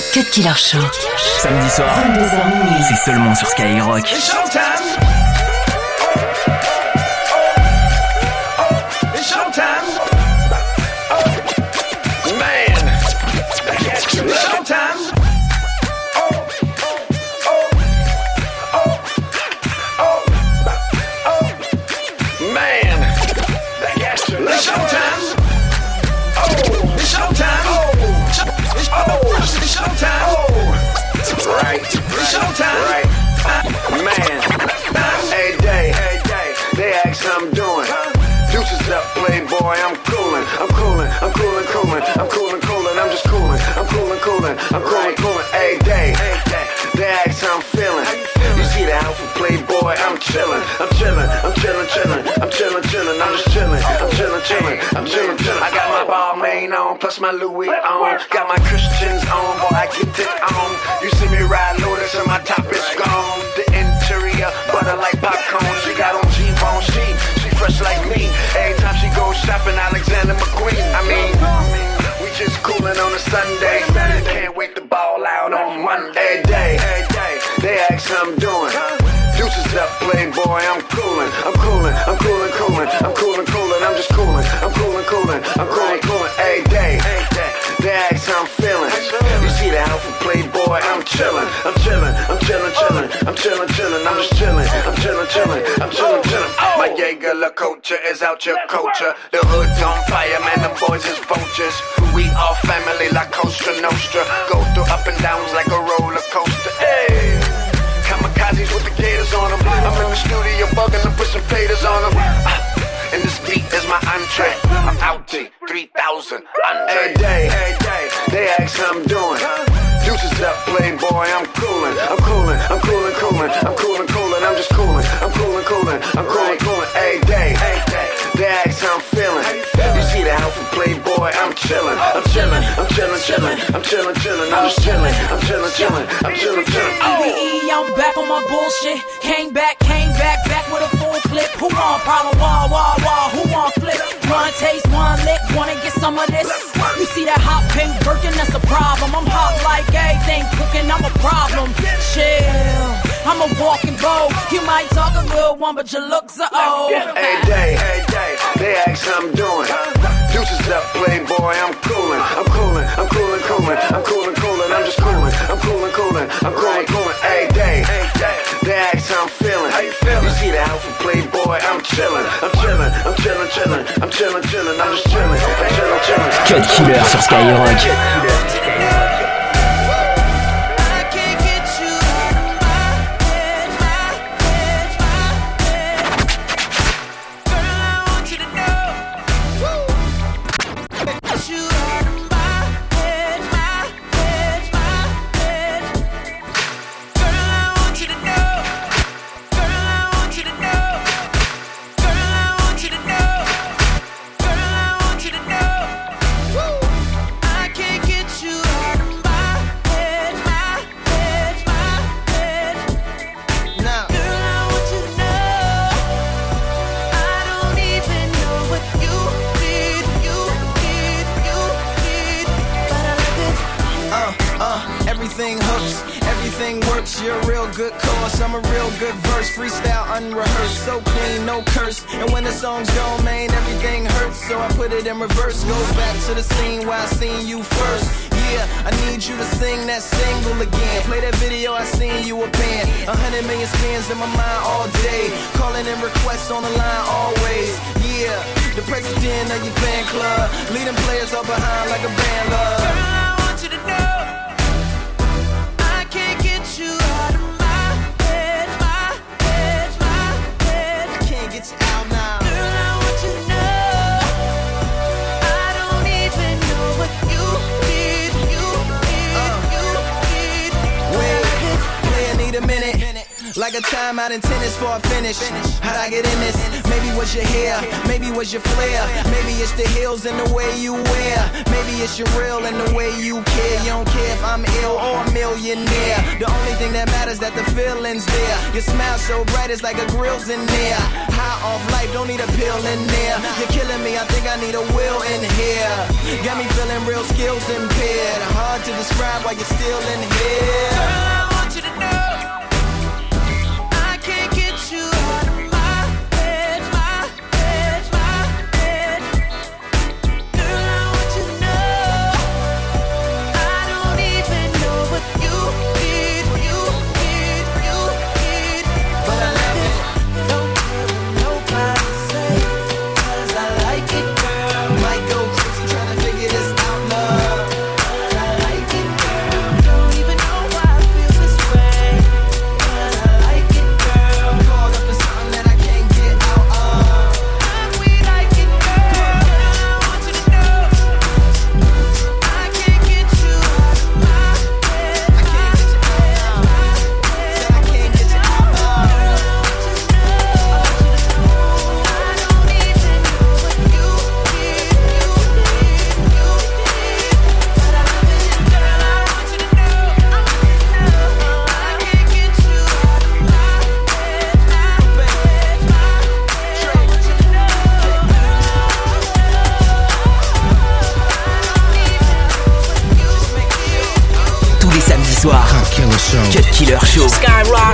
Cut Killer Show. Samedi soir, 22h minuit. c'est seulement sur Skyrock. It's showtime. It's showtime. Man, it's showtime. Man, it's showtime. It's showtime. It's showtime. Right. It's showtime. Right. Man. Hey day. They ask how I'm doing. Deuces up, playboy. I'm coolin'. I'm coolin'. I'm just coolin'. I'm coolin'. Hey day. They ask how I'm feeling. You see the outfit, playboy. I'm chillin'. I'm just chillin'. I got my Balmain on, plus my Louis on. Got my Christians on, boy, I get it on. You see me ride Lotus and my top is gone. The interior, butter like popcorn. She got on G-bone, she fresh like me. Every time she goes shopping, Alexander McQueen. I mean, we just coolin' on a Sunday. Can't wait to ball out on Monday. Day. They ask how I'm doing. Deuces up, playboy, I'm coolin'. I'm just coolin'. Hey, day. They ask how I'm feeling. You see the outfit, playboy, I'm chillin'. I'm just chillin'. My Jaeger LaCocha is out your culture. The hood's on fire, man, them boys is vultures. We all family like Costa Nostra. Go through up and downs like a roller coaster. Hey. Kamikazes with the gators on them. I'm in the studio bugging them, put some faders on them. And this beat is my entree. I'm out to 3,000 Andre. Hey day, they ask how I'm doing. Deuces up, playboy, I'm coolin'. I'm just coolin'. Hey day, they ask how I'm feeling. You see the outfit, playboy, I'm chillin'. I'm just chillin'. EVE, I'm back on my bullshit. Came back with a full clip. Who want problem? Wah, who want flip? One taste, one lick, wanna get some of this? You see that hot pink Birkin, that's a problem. I'm hot like everything cooking, I'm a problem. Chill, I'm a walking bow. You might talk a good one, but your looks are old. Hey day, they ask how I'm doing. Deuces up, playboy, I'm coolin'. I'm just coolin'. Hey day, they ask how I'm feeling. You see the outfit, playboy, I'm chillin'. I'm just chillin'. Cut Killer sur Skyrock. Everything works, you're a real good cause. I'm a real good verse, freestyle unrehearsed, so clean, no curse. And when the song's gone, man, everything hurts, so I put it in reverse. Go back to the scene where I seen you first. Yeah, I need you to sing that single again. Play that video, I seen you a band. 100 million spins in my mind all day. Calling in requests on the line always. Yeah, the president of your fan club. Leading players up behind like a band love. Girl, I want you to know I can't get you out of my head. I can't get you out now. Girl, I want you to know I don't even know what you did. Wait, need a minute. Like a timeout in tennis for a finish. How'd I get in this? Maybe was your hair, maybe was your flair. Maybe it's the heels and the way you wear. Maybe it's your real and the way you care. You don't care if I'm ill or a millionaire. The only thing that matters that the feeling's there. Your smile so bright, it's like a grill's in there. High on off life, don't need a pill in there. You're killing me, I think I need a will in here. Got me feeling real skills impaired. Hard to describe why you're still in here. Girl, I want you to know I can't get you out of my head, my head, my head. Girl, I want you to know I don't even know what you need, you need, you need. But I love it, don't care what nobody say, 'cause I like it, girl. Might go crazy trying to figure this out, love. I like it, girl. Don't even know why I feel this way, 'cause I like it, girl. Caught up in something that I can't get out of. And we like it, girl. I want you to know I can't get you out of my head. I can't get you out of my head. Said I can't get you out of. Just know I don't even know what you need, you need, you need. But I love it, girl. I want you to know, I can't get you out of my head, my head, my head. I want you to know, Tous les samedis soirs, Cut Killer Show. Skyrock.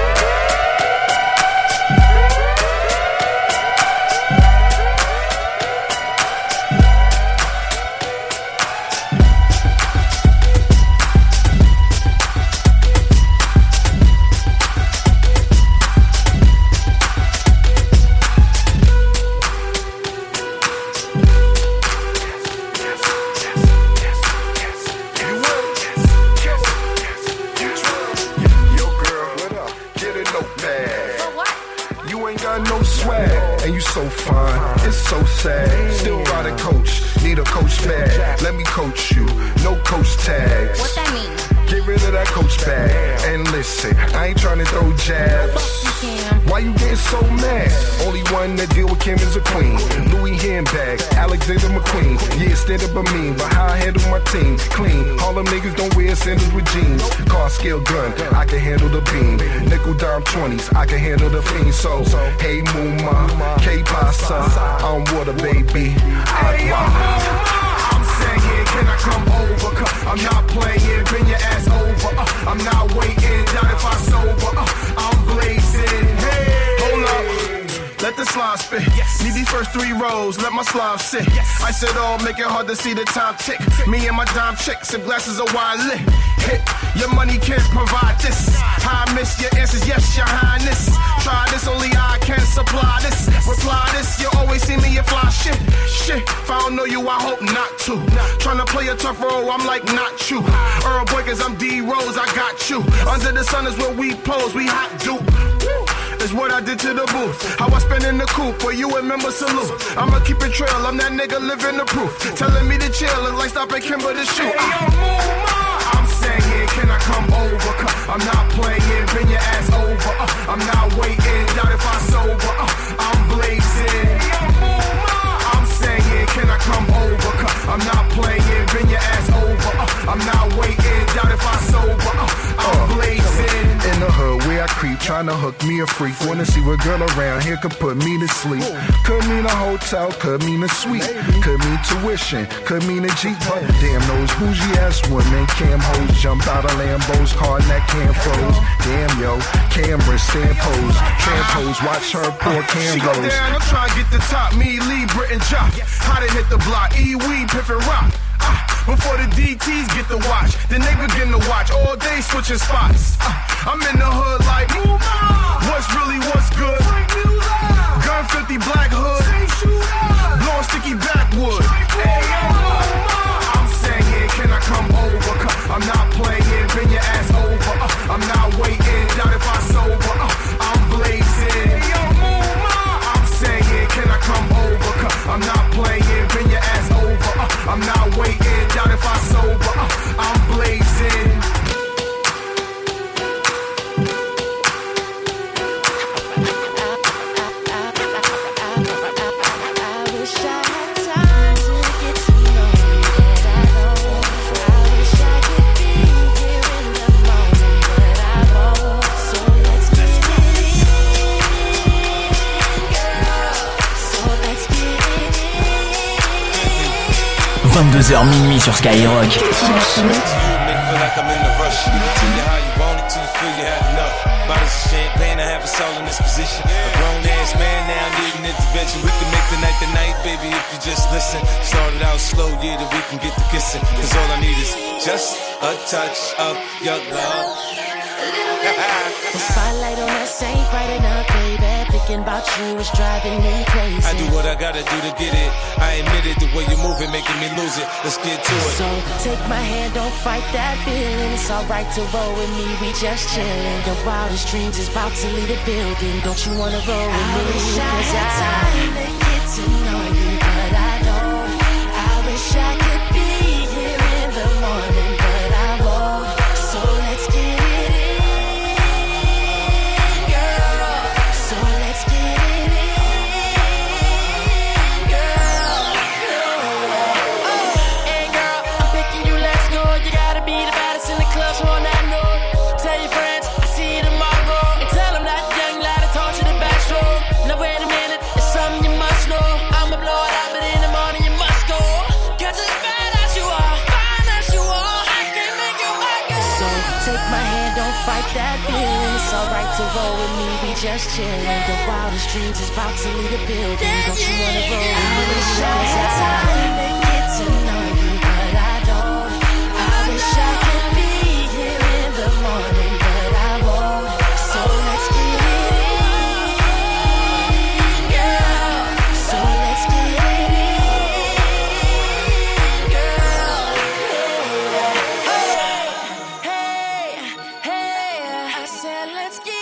Yo, girl, what up? Get a notepad. For what? You ain't got no swag, and you so fine. It's so sad. Still riding coach, need a coach bag. Let me coach you, no coach tags. What that mean? Get rid of that coach bag. And listen, I ain't trying to throw jabs. Why you getting so mad? Only one that deal with Kim is a queen. Louis handbag, Alexander McQueen. Yeah, stand up a mean, but how I handle my team? Clean. All them niggas don't wear sandals with jeans. Car scale gun, I can handle the beam. Nickel dime 20s, I can handle the fiend. So, hey Mooma, K Pasa, I'm water baby. Agua. I'm saying, can I come over? 'Cause I'm not playing, bring your ass over. I'm not waiting, doubt if I sober. I'm blazing. Hey, hold up. Let the slime spit. Need these first 3 rows, let my slime sit. I said all, make it hard to see the time tick. Me and my dime chick, sip glasses of wine lit. Hit, your money can't provide this. I miss your answers, yes, your highness. Try this, only I can supply this. Reply this, you always see me, you fly shit. Shit, if I don't know you, I hope not to. Tryna play a tough role, I'm like, not you. Earl Boy, 'cause I'm D-Rose, I got you. Under the sun is where we pose, we hot dupe. Is what I did to the booth. How I spend in the coupe, where you remember salute. I'ma keep it trail, I'm that nigga living the proof. Telling me to chill, it's like stopping Kimber to shoot. I'm saying, can I come over? 'Cause I'm not playing, bring your ass over. I'm not waiting, doubt if I sober. I'm blazing. I'm saying, can I come over? 'Cause I'm not playing, bring your ass over. I'm not waiting, doubt if I sober. I'm blazing. In the hood where I creep, trying to hook me a freak. Wanna see what girl around here could put me to sleep. Could mean a hotel, could mean a suite. Could mean tuition, could mean a Jeep. But damn, those bougie ass women, cam hoes, jump out of Lambos, car neck cam froze. Damn, yo, cameras, stand pose. Trampos, watch her poor cam goes. She go down, I'm trying to get the top. Me, Lee, Brit, and Jock. How to hit the block, E-Weed, Piff, and Rock. Before the DTs get the watch, then they begin to watch all day switching spots. I'm in the hood like, what's really what's good? Gun 50 black hood, blowing sticky backwood. I'm saying, can I come over? 'Cause I'm not playing, bring your ass over. I'm not waiting, doubt if I sober. I'm blazing. I'm saying, can I come over? 'Cause I'm not playing, bring your ass over. I'm not waiting, doubt if I sober. I'm blazing. 22h minuit sur Skyrock. Champagne, I have a soul in this position. A grown ass man now needing intervention. We can make the night, baby, if you just listen. Started out slow, yeah, that we can get to kissing. Cause all I need is just a touch of your love. The spotlight on us ain't bright enough, baby. Thinking about you is driving me crazy. I do what I gotta do to get it. I admit it, the way you move it, making me lose it. Let's get to it. So take my hand, don't fight that feeling. It's alright to roll with me, we just chillin'. Your wildest dreams is about to leave the building. Don't you wanna roll with me? I wish I had time to get to know you, but I don't. I wish I could be here in the morning, but I won't. So let's get it. To roll with me, we just chillin'. Your wildest dreams is about to leave the building. Don't you wanna roll with me? I wish I had time to get to know you, but I don't. I wish I could be here in the morning, but I won't. So let's get it in, girl. So let's get it in, girl. Hey, hey, I said let's get.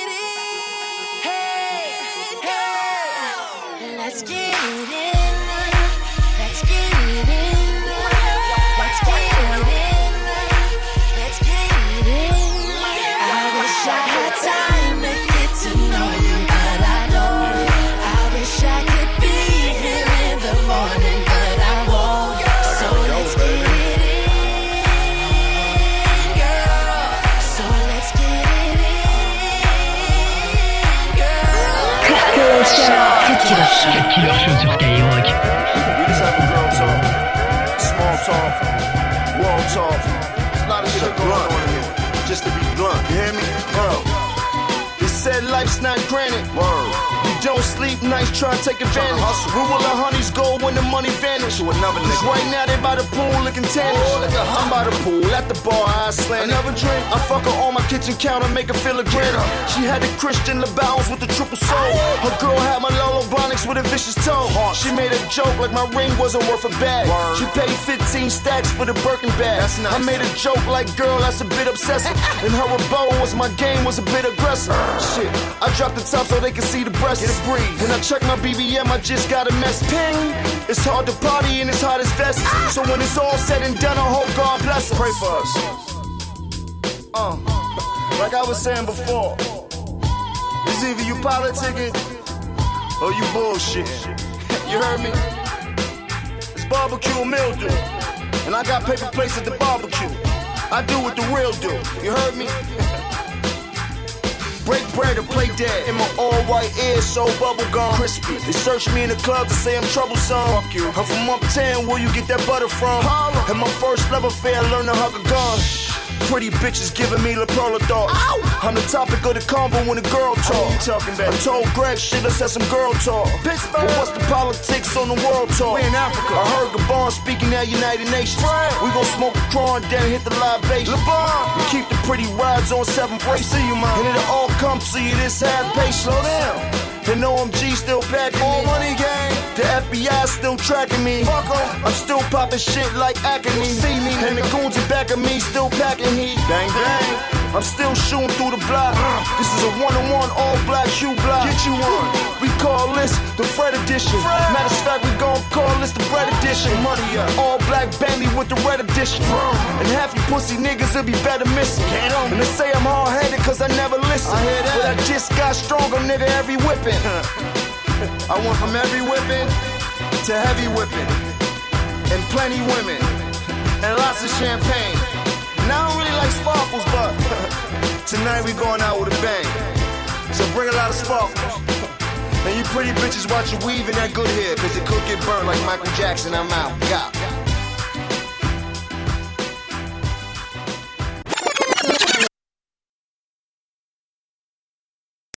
Let's get it in, let's get it in, let's get it in, let's get it in. I wish I had time to get to know you, but I don't. I wish I could be here in the morning, but I won't. So let's get it in, girl. So let's get it in, girl. Cut Killer Show sur Skyrock. We just having girl talk, small talk, world talk. There's a lot of shit going on in here. Just to be blunt, you hear me? They said life's not granted. Word. We don't sleep nights, try to take advantage. Where will the honeys go when the money vanish? To another nigga. Right now they by the pool looking tannish. I'm by the pool, at the bar, I slam. Another drink, I fuck her on my kitchen counter, make her feel a granite. She had the Christian LeBounds with the triple soul. Her girl had my Lolo Blonics with a vicious toe. She made a joke like my ring wasn't worth a bag. She paid 15 stacks for the Birkin bag. Nice. I made a joke like, girl, that's a bit obsessive. And her bow was my game was a bit aggressive. Shit, I dropped the top so they can see the breast. Get a breeze. When I check my BBM, I just got a mess. Ping! It's hard to party and it's hard as vest. So when it's all said and done, I hope God bless us. Pray for us. Like I was saying before, it's either you politicking or you bullshit. You heard me? It's barbecue and mildew, and I got paper plates at the barbecue. I do what the real do. You heard me? Break bread and play dead. In my all-white ears, so bubblegum crispy. They search me in the club to say I'm troublesome. Fuck you. I'm from uptown, where you get that butter from? And my first love affair, I learned to hug a gun. Pretty bitches giving me La Perla thoughts. I'm the topic of the convo when the girl talk. Talking about? I told Greg shit, let's have some girl talk. Pittsburgh. But what's the politics on the world talk? We in Africa. I heard Gabon speaking at United Nations. We gon' smoke a cron, then hit the libation. We keep the pretty rides on 7th Way. See you, man. And it'll all come to you this half page. Slow down. And OMG still packing all money gang. The FBI still tracking me. Fuck em. I'm still popping shit like Acme. See me. And the goons in back of me still packing heat. Bang bang. I'm still shooting through the block. This is a one-on-one all-black shoe block. Get you one. We call this the Fred edition. Matter of fact, we gon' call this the bread edition. Money up. All-black Bentley with the red edition. And half you pussy niggas will be better missing. And they say I'm hard-headed cause I never listen. I hear that. But I just got stronger, nigga, every whipping. I went from every whipping to heavy whipping. And plenty women. And lots of champagne. Now I don't really like sparkles, but tonight we going out with a bang. So bring a lot of sparkles. And you pretty bitches watch your weave and that good hair, cause it could get burned like Michael Jackson. I'm out. God.